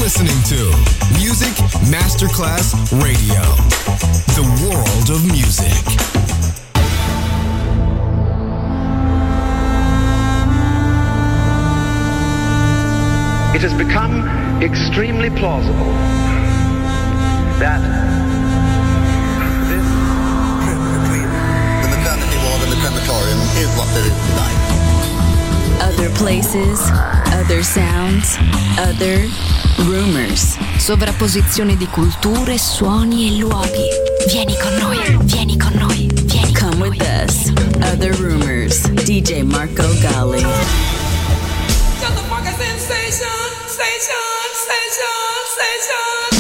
listening to Music Masterclass Radio, the world of music. It has become extremely plausible that this trip between the maternity ward and the crematorium is what there is tonight. Other places, other sounds, other rumors. Sovrapposizione di culture, suoni e luoghi. Vieni con noi, vieni con noi, vieni. Come with us. Other rumors. DJ Marco Gally. Just a fucking sensation, station, station, station.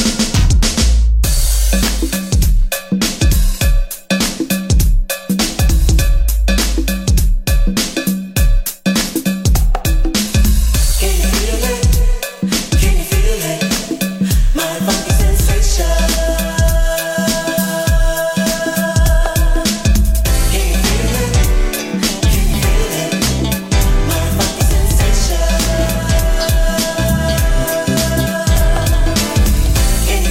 Can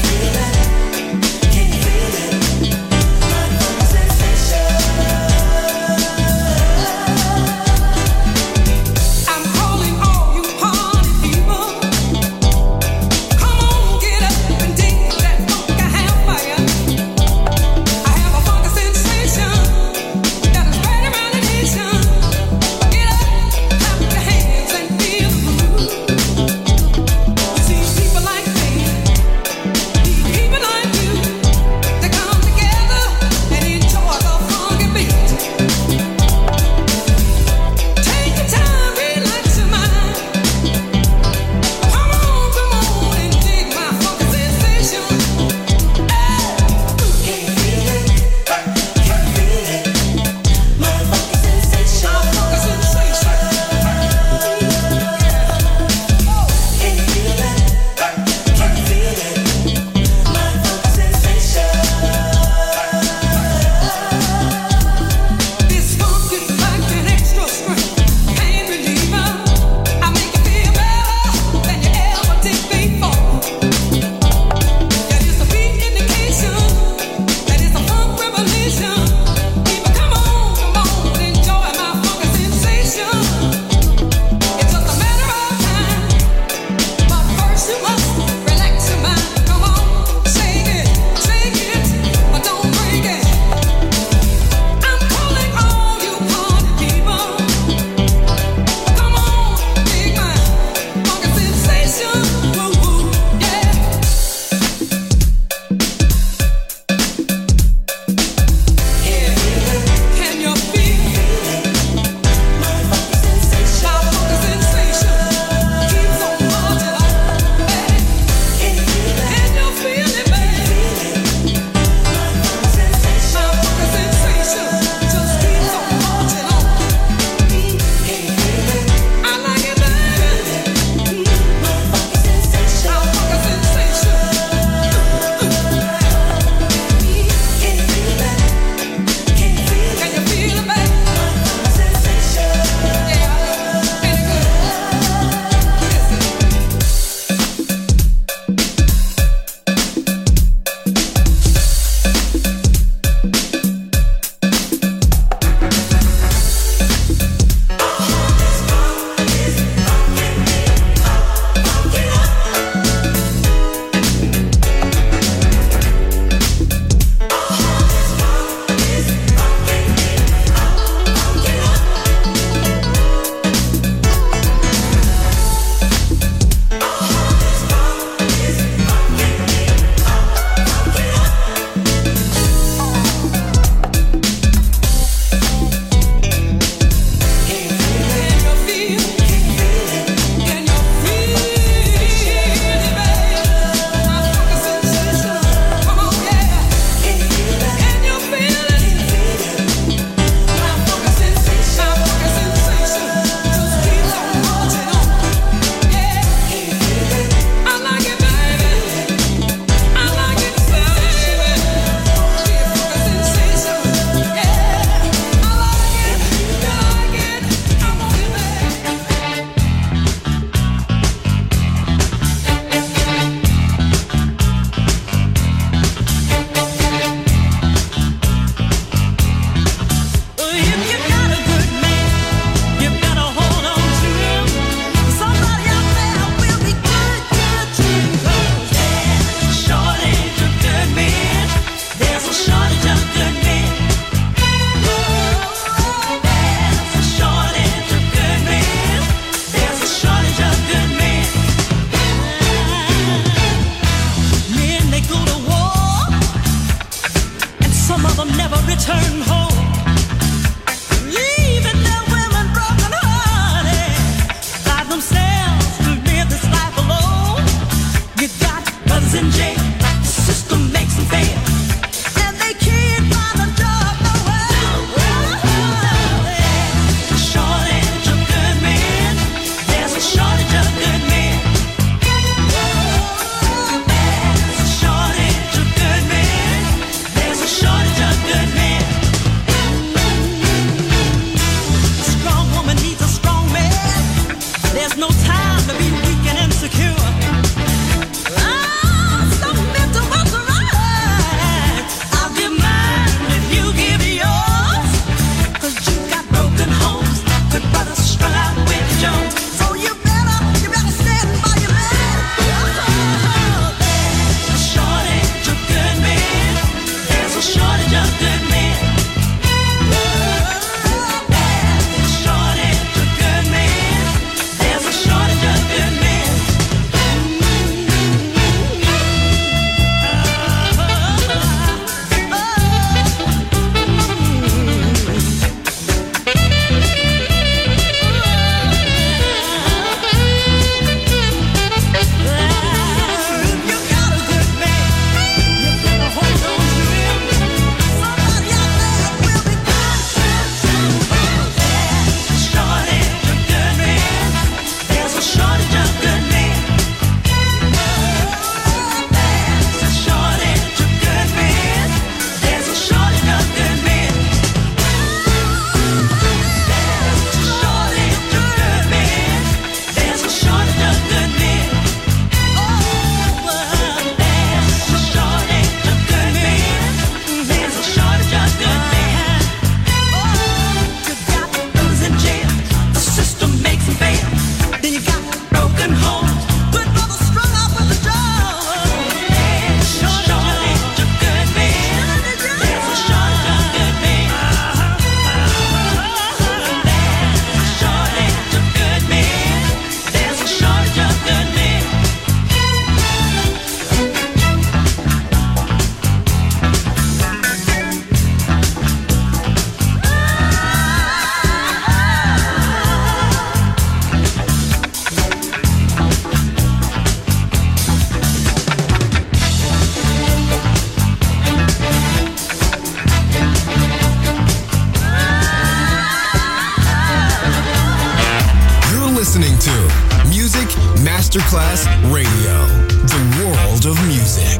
Masterclass Radio, the world of music.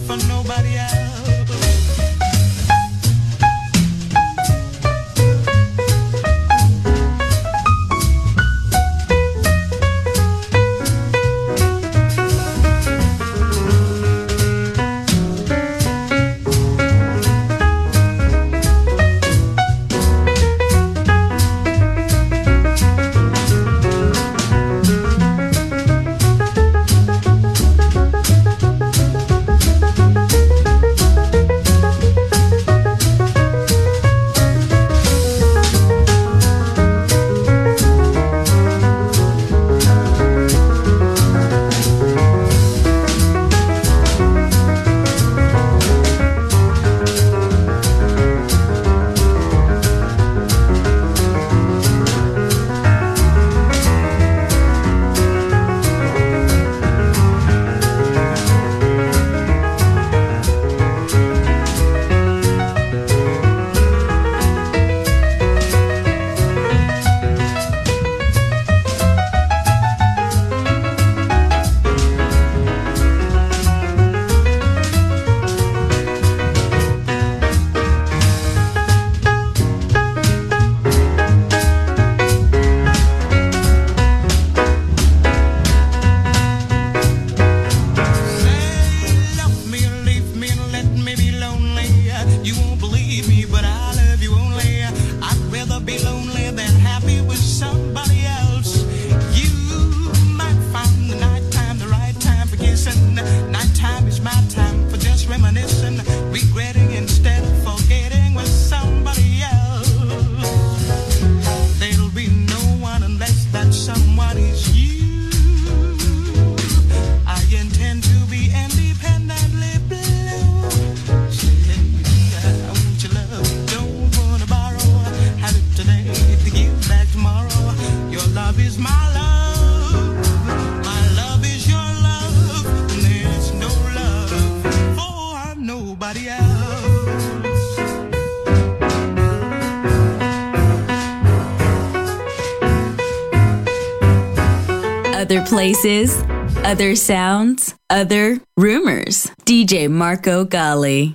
Nobody else. other places, other sounds, other rumors. DJ Marco Gally.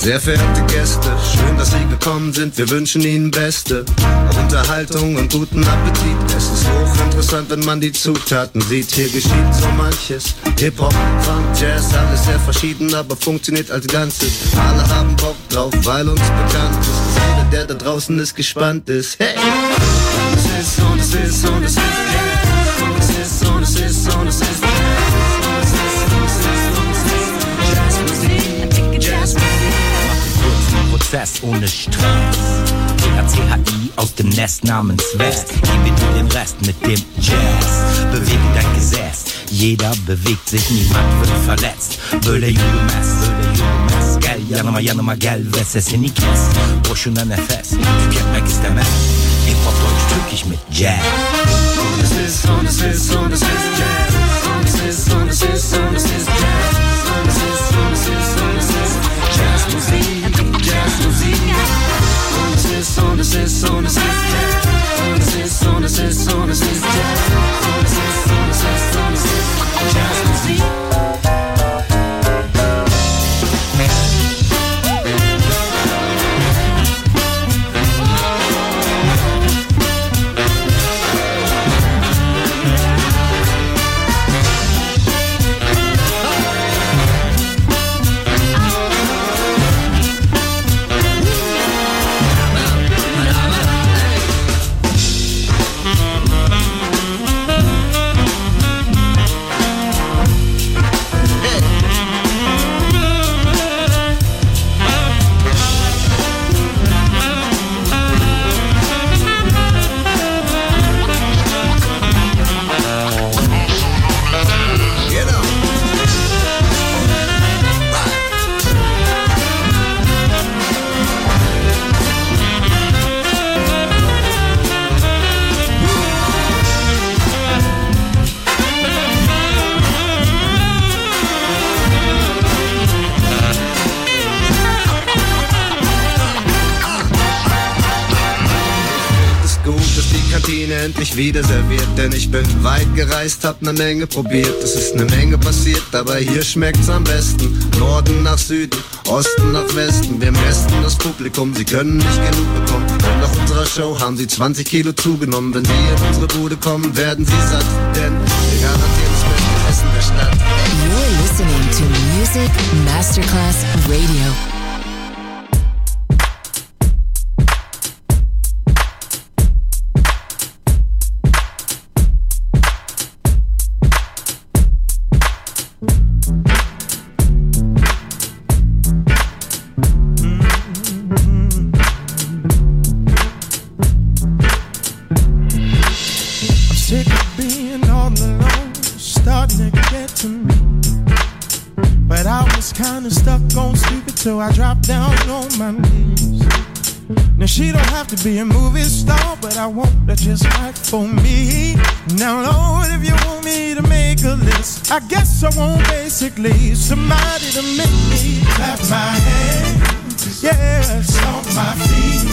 Sehr verehrte Gäste, schön, dass Sie gekommen sind, wir wünschen Ihnen beste Unterhaltung und guten Appetit. Es ist hochinteressant, wenn man die Zutaten sieht. Hier geschieht so manches, Hip-Hop, Funk, Jazz, alles sehr verschieden, aber funktioniert als Ganzes. Alle haben Bock drauf, weil uns bekannt ist, dass jeder, der da draußen ist, gespannt ist. Hey! Und es ist, und es ist, und es ist Jazz. Und es ist, und es ist, und es ist Jazz. Prozess ohne Stress. RCHI aus dem Nest namens West. Gebe dir den Rest mit dem Jazz. Bewege dein Gesäß. Jeder bewegt sich, niemand wird verletzt. Böyle yürümez, gel yanıma gel ve sesini kes. Boşuna nefes, tüketmek istemez. Hip-Hop Deutsch türkisch mit Jazz. Und es ist, und es ist, und es ist Jazz. Und es ist, und es ist, und es ist Jazz. Und es ist, und es ist, und es ist Jazzmusik, Jazzmusik. Und es ist, und es ist, und es ist Jazz. Und es ist, und es ist, und es ist Jazz. Und es ist, und es ist, und es ist Jazzmusik. Endlich wieder serviert, denn ich bin weit gereist, hab ne Menge probiert. Es ist ne Menge passiert, aber hier schmeckt's am besten. Norden nach Süden, Osten nach Westen, wir messen das Publikum, sie können nicht genug bekommen. Und nach unserer Show haben sie 20 Kilo zugenommen. Wenn sie in unsere Bude kommen, werden sie satt, denn wir garantieren das beste Essen der Stadt. You're listening to Music Masterclass Radio. So I dropped down on my knees. Now she don't have to be a movie star, but I want her just right for me. Now Lord, if you want me to make a list, I guess I want basically somebody to make me clap my hands, yeah, stomp my feet.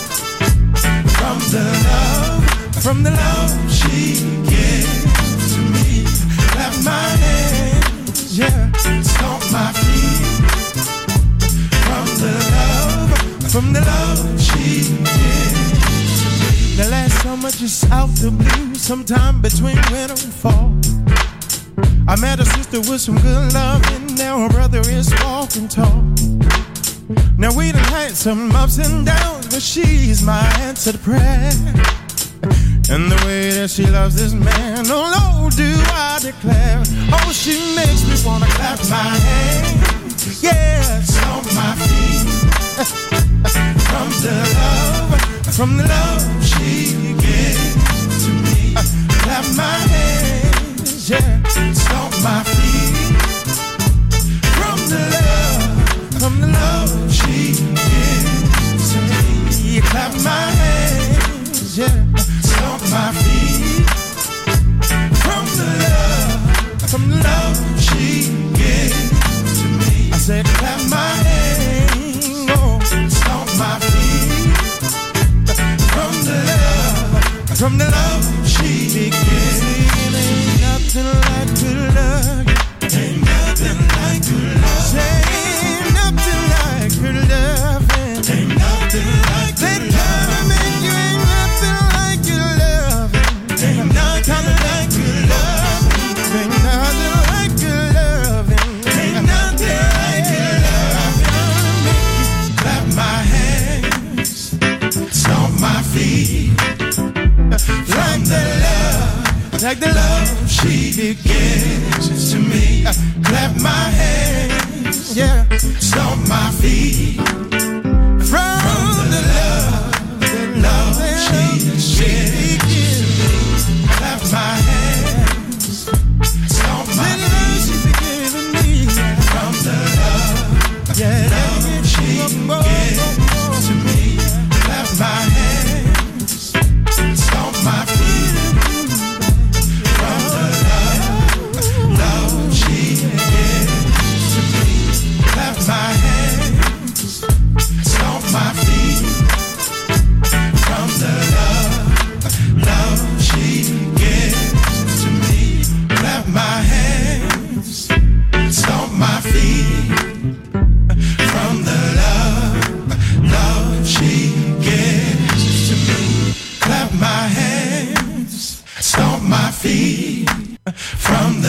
From the love she gives to me. Clap my hands, yeah, stomp my feet. From the love she gives to me. The last summer just out the blue, sometime between winter and fall, I met a sister with some good love, and now her brother is walking tall. Now we done had some ups and downs, but she's my answer to prayer. And the way that she loves this man, oh Lord, do I declare. Oh, she makes me wanna clap my hands, yeah, stomp my feet. From the love she gives to me. Clap my hands, yeah, stomp my feet. From the love she gives to me. Clap my hands, yeah, stomp my feet. From the love she gives to me. I said clap my hands, oh, stomp my feet. From the love she gives. Ain't nothing like good love. Ain't nothing like good love. Say ain't nothing like good love. nothing like that kind of make you ain't nothing like your loving. Ain't nothing like your loving. Ain't nothing like your loving. Ain't nothing like your loving. Make you clap my hands, stomp my feet. From the love, like the love she gives to me. Clap my hands, yeah, stomp my feet. From the love she gives to me. Clap my hands, stomp my feet. From the love she gives to me. Clap my hands, stomp my feet. From the love she gives to me. Clap my hands, stomp my feet. From the love she gives to me. Clap my hands, stomp my feet. From the love she gives to me. Clap my hands, stomp my feet. From the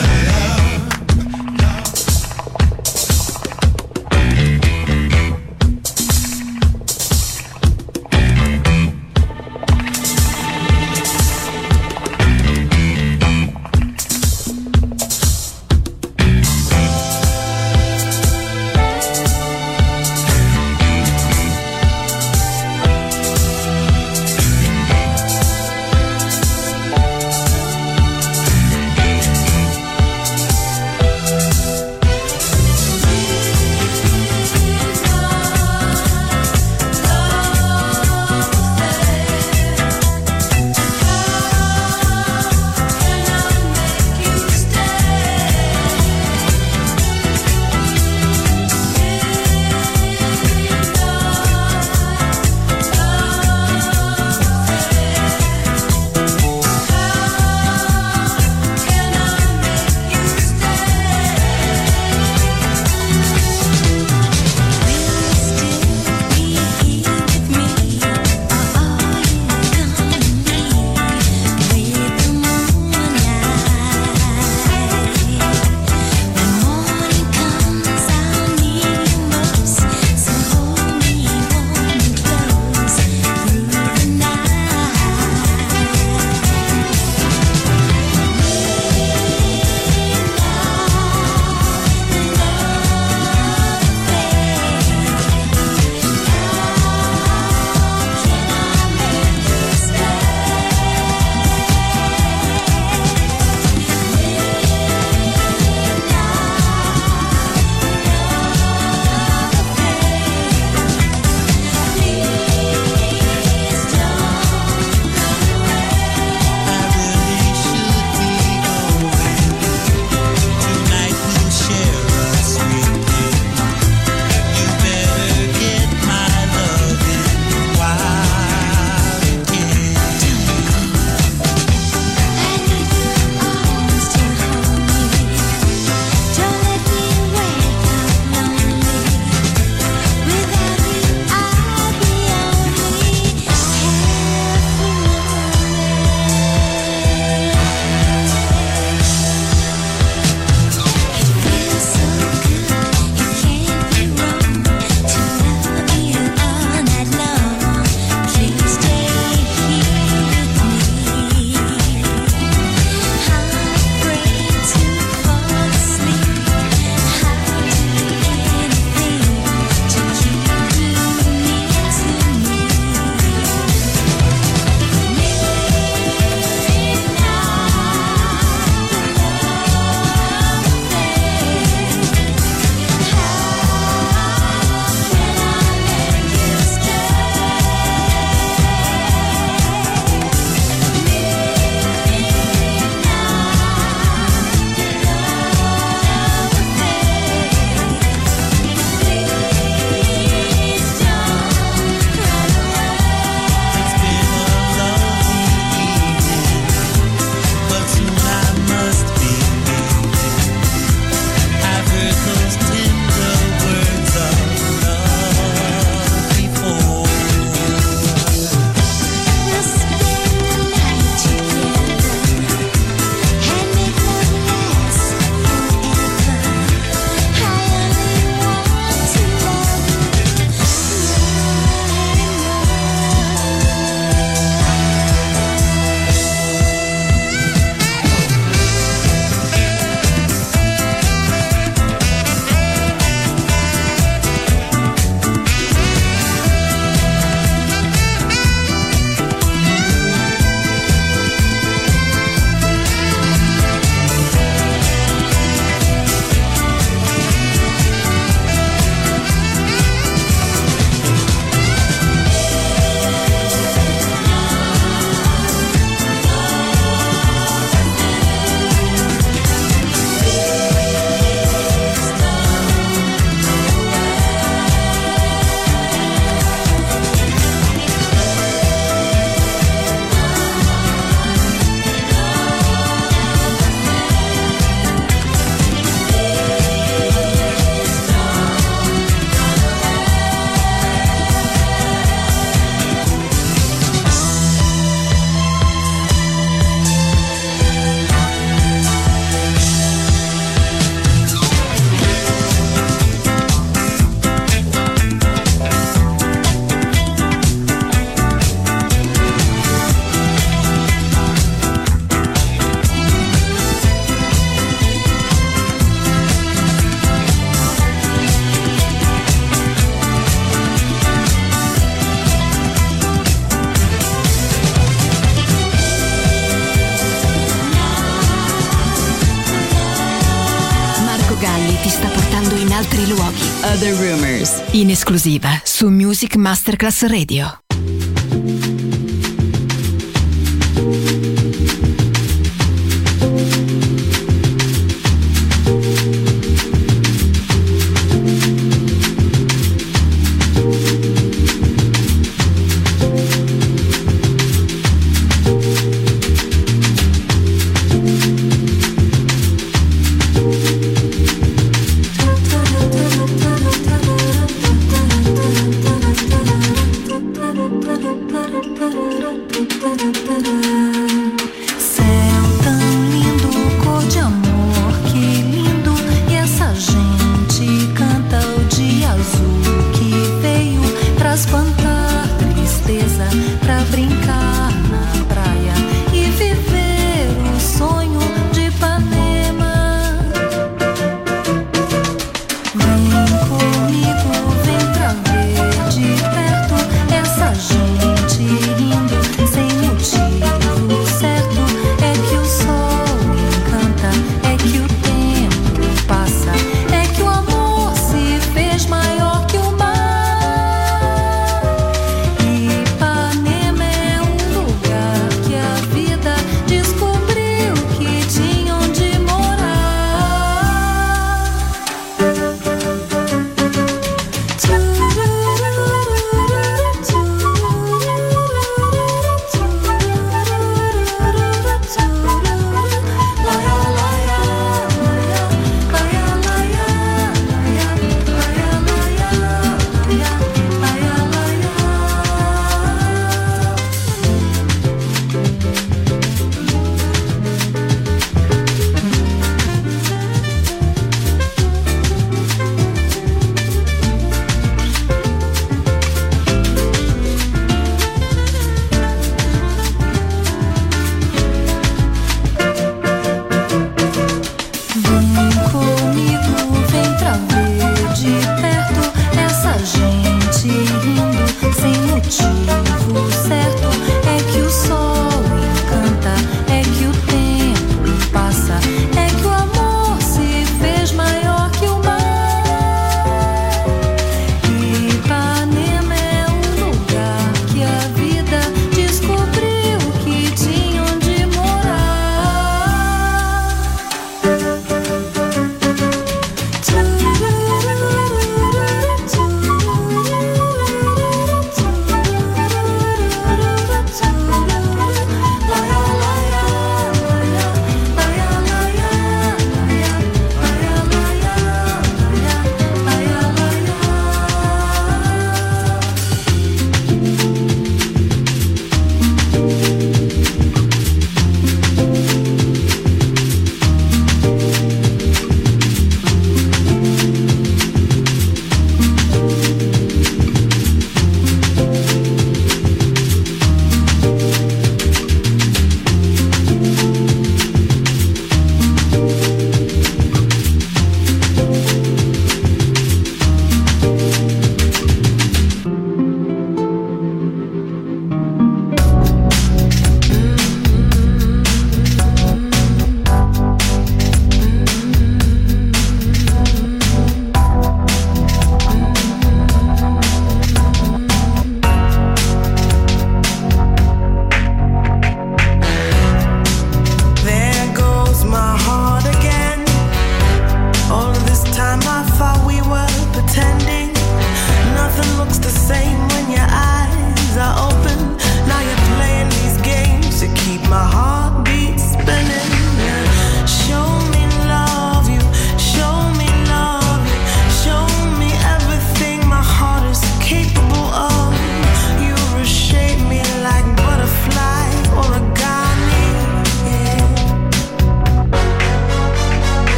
ti sta portando in altri luoghi. Other Rumors, in esclusiva su Music Masterclass Radio.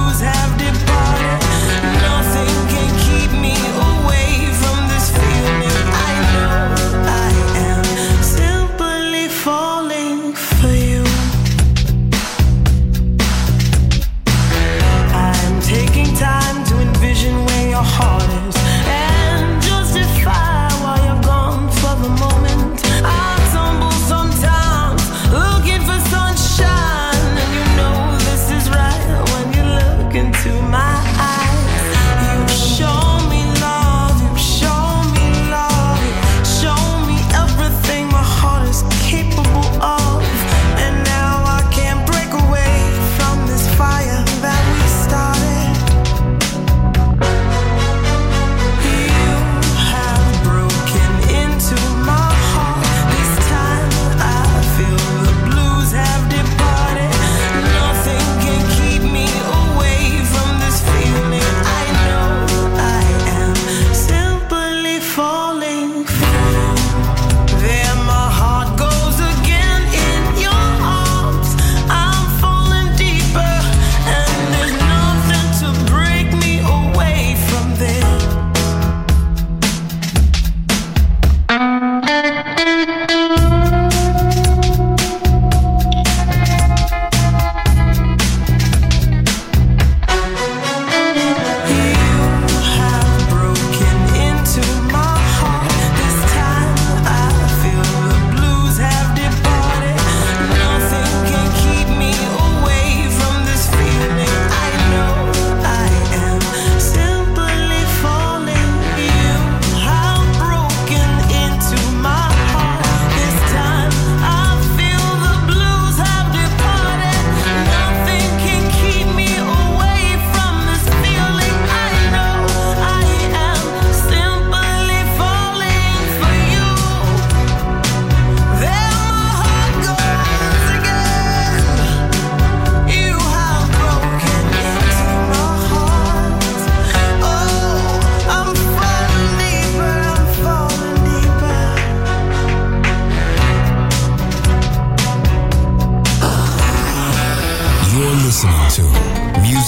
Feeling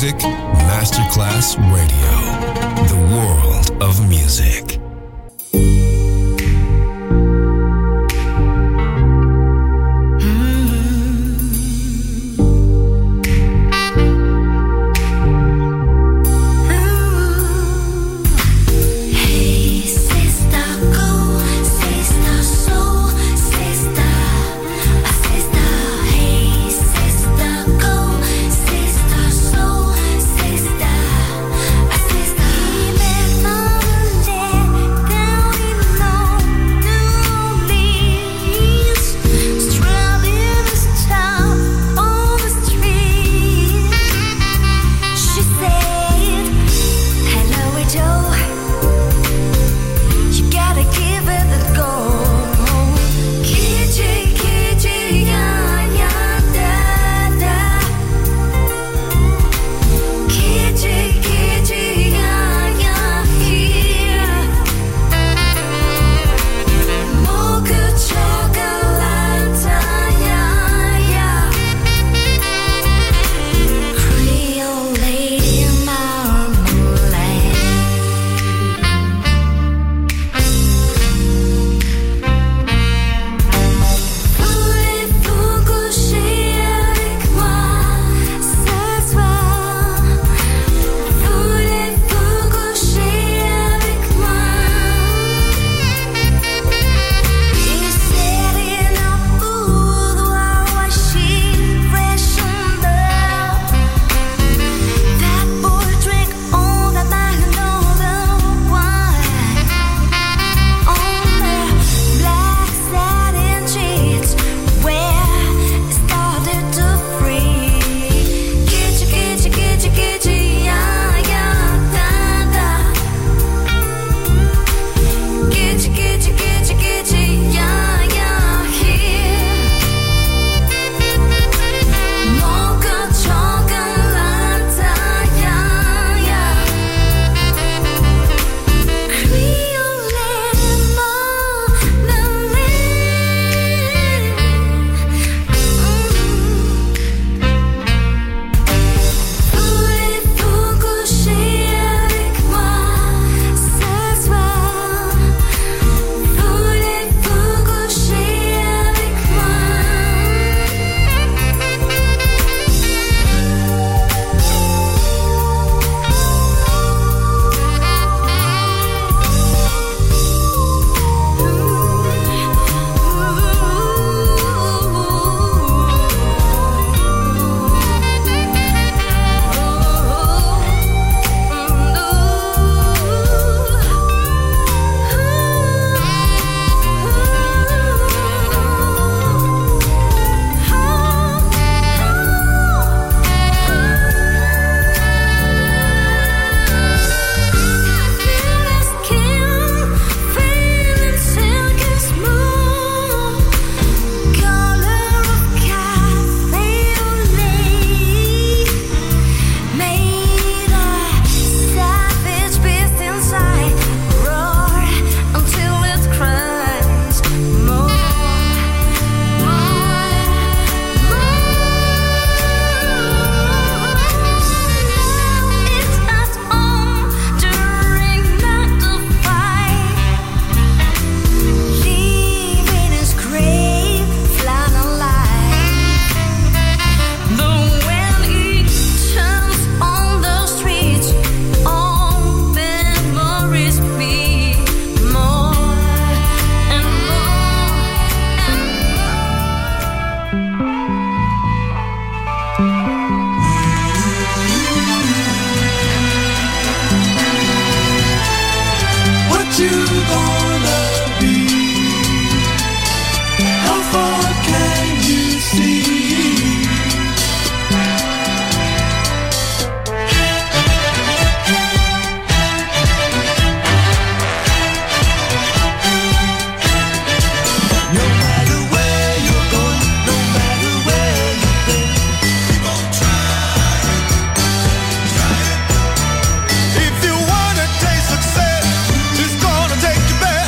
Music Masterclass Radio. The world of music. If you wanna taste success, it's gonna take you back.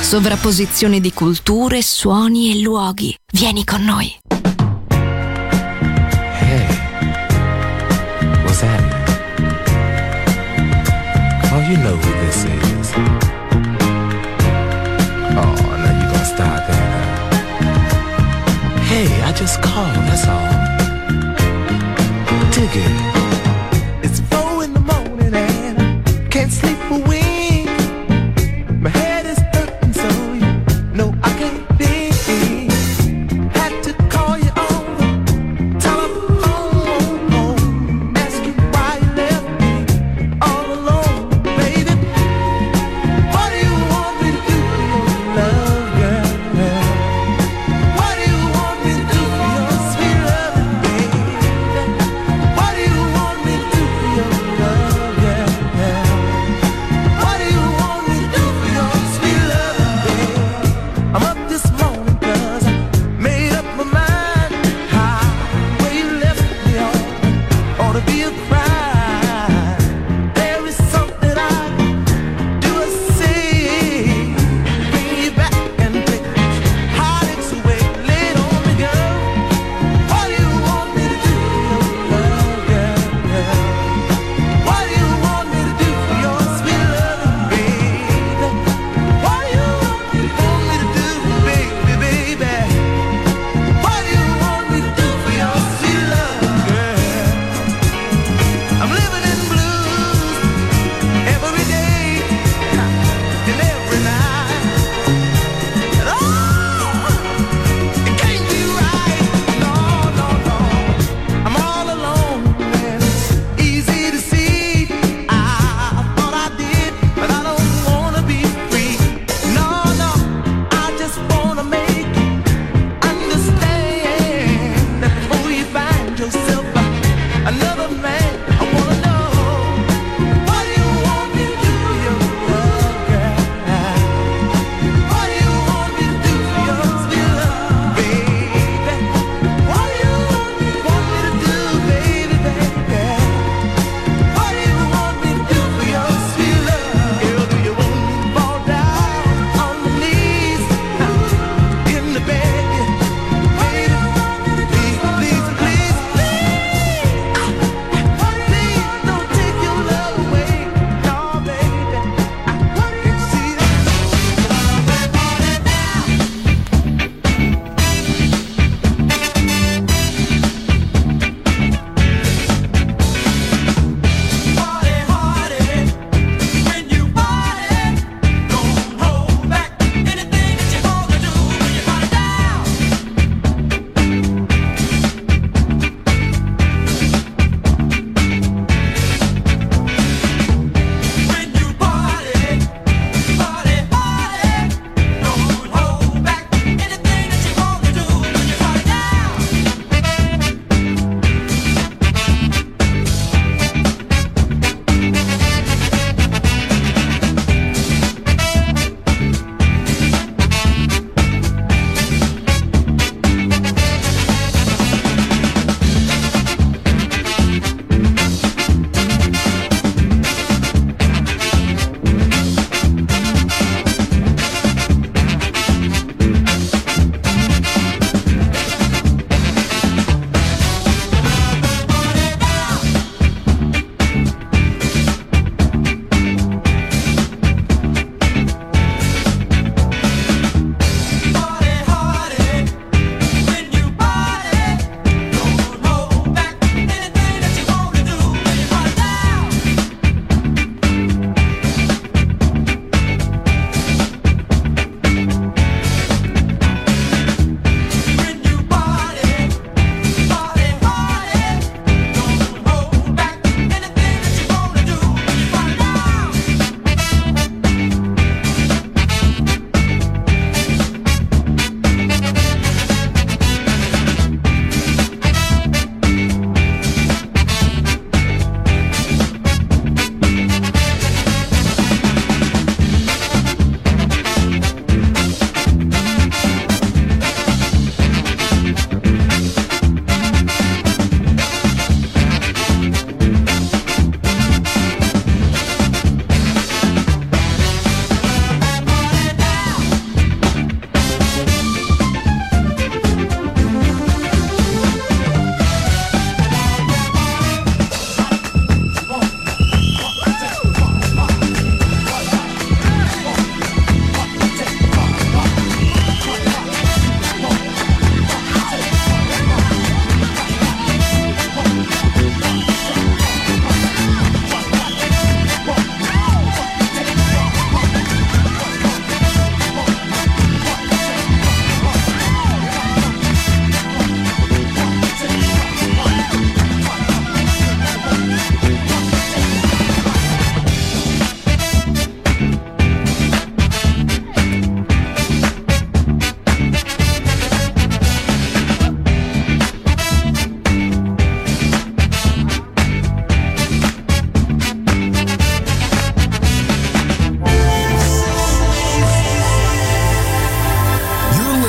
Sovrapposizione di culture, suoni e luoghi. Vieni con noi. Hey, what's happening? Oh, you know who this is. Oh, now you gonna start that, huh? Hey, I just called, that's all. Dig it. It's 4 in the morning and I can't sleep a wink. My head is hurting so you know I can't think. Had to call you on the telephone, ask you why you left me all alone, baby. What do you want me to do for your love, girl? What do you want me to do for your sweet love, baby? What do you want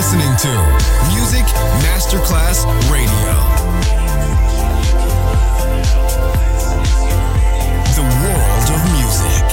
listening to Music Masterclass Radio. The world of music.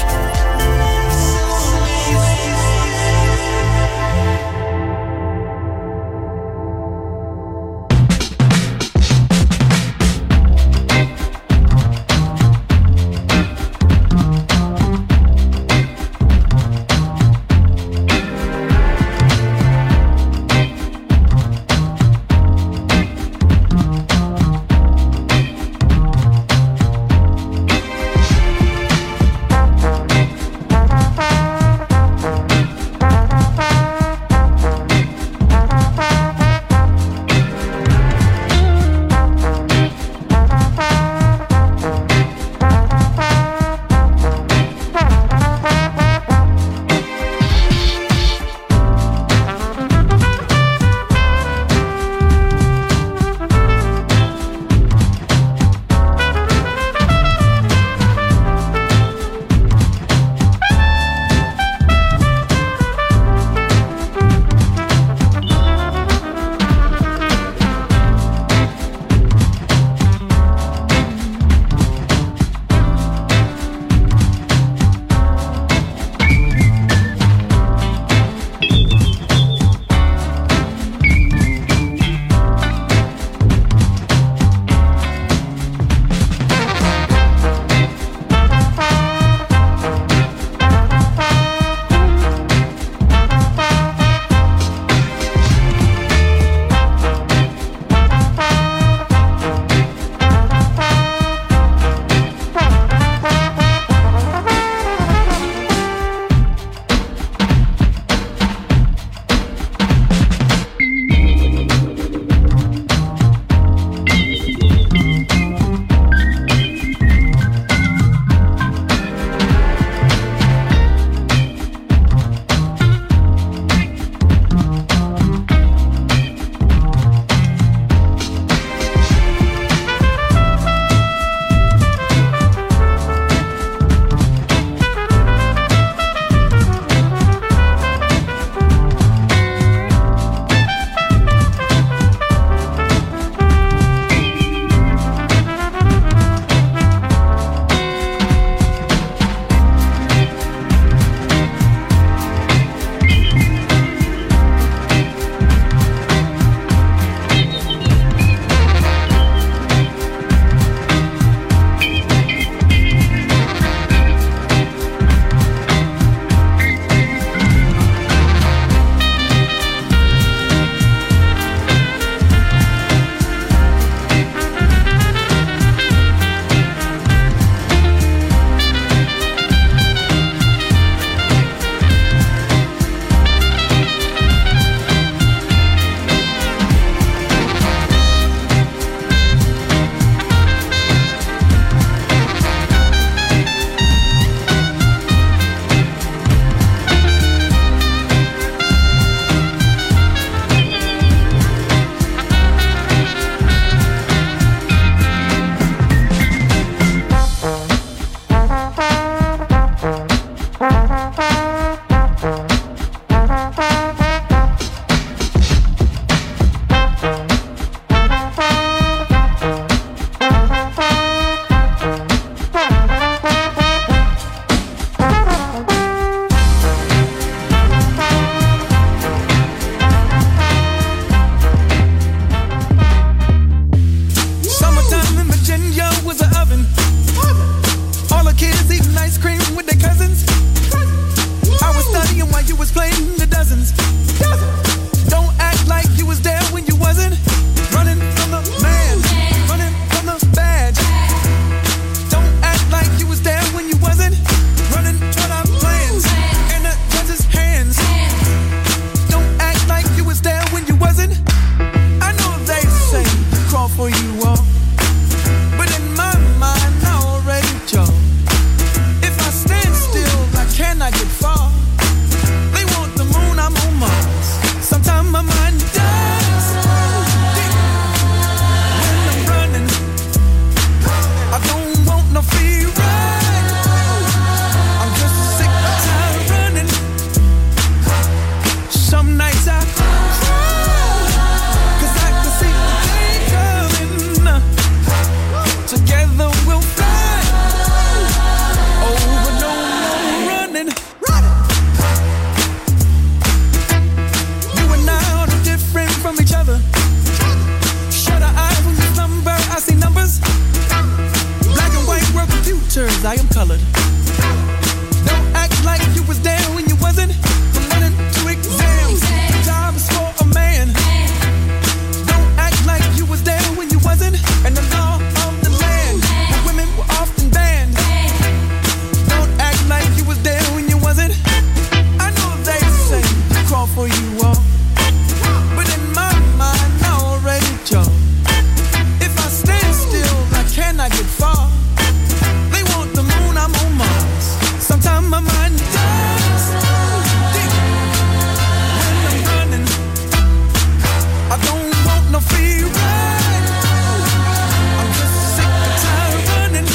colored. Don't act like you was there when you wasn't. From running to exams, job is for a man. Don't act like you was there when you wasn't. And the law of the land, the women were often banned. Don't act like you was there when you wasn't. I know they say crawl for you all, but in my mind I already chose. If I stand still, I cannot get far. They want the moon, I'm on Mars. Sometimes my mind dies deep when I'm running. I don't want no free ride. I'm just sick and tired of running.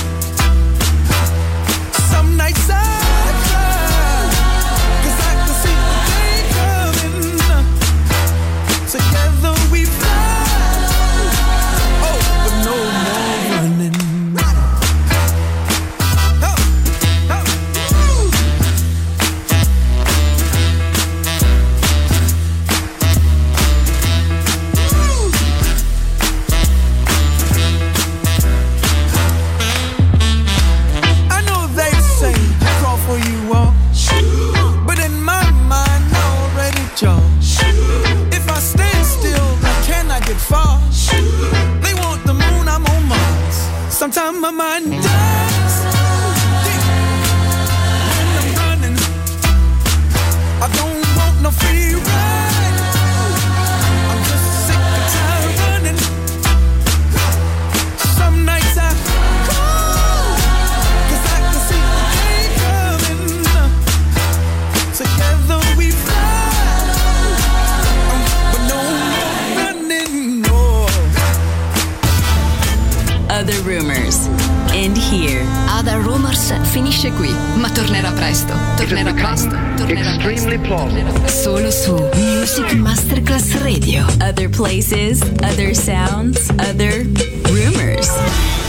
Some nights I cry, 'cause I can see the day coming. Together we fly. Oh, but no more running. I know they say crawl for you all, but in my mind I already chose. If I stand still, I cannot get far. They want the moon, I'm on Mars. Sometimes my mind dies deep when I'm running. I don't want no free ride. I'm just sick and tired of running. Some nights I cry, 'cause I can see the day coming. Together we fly, but no more running, no. Other Rumors. End here. Other Rumors finisce qui, ma tornerà presto. Tornerà presto. Tornerà presto. Solo su Music Masterclass Radio. Other places, other sounds, other rumors.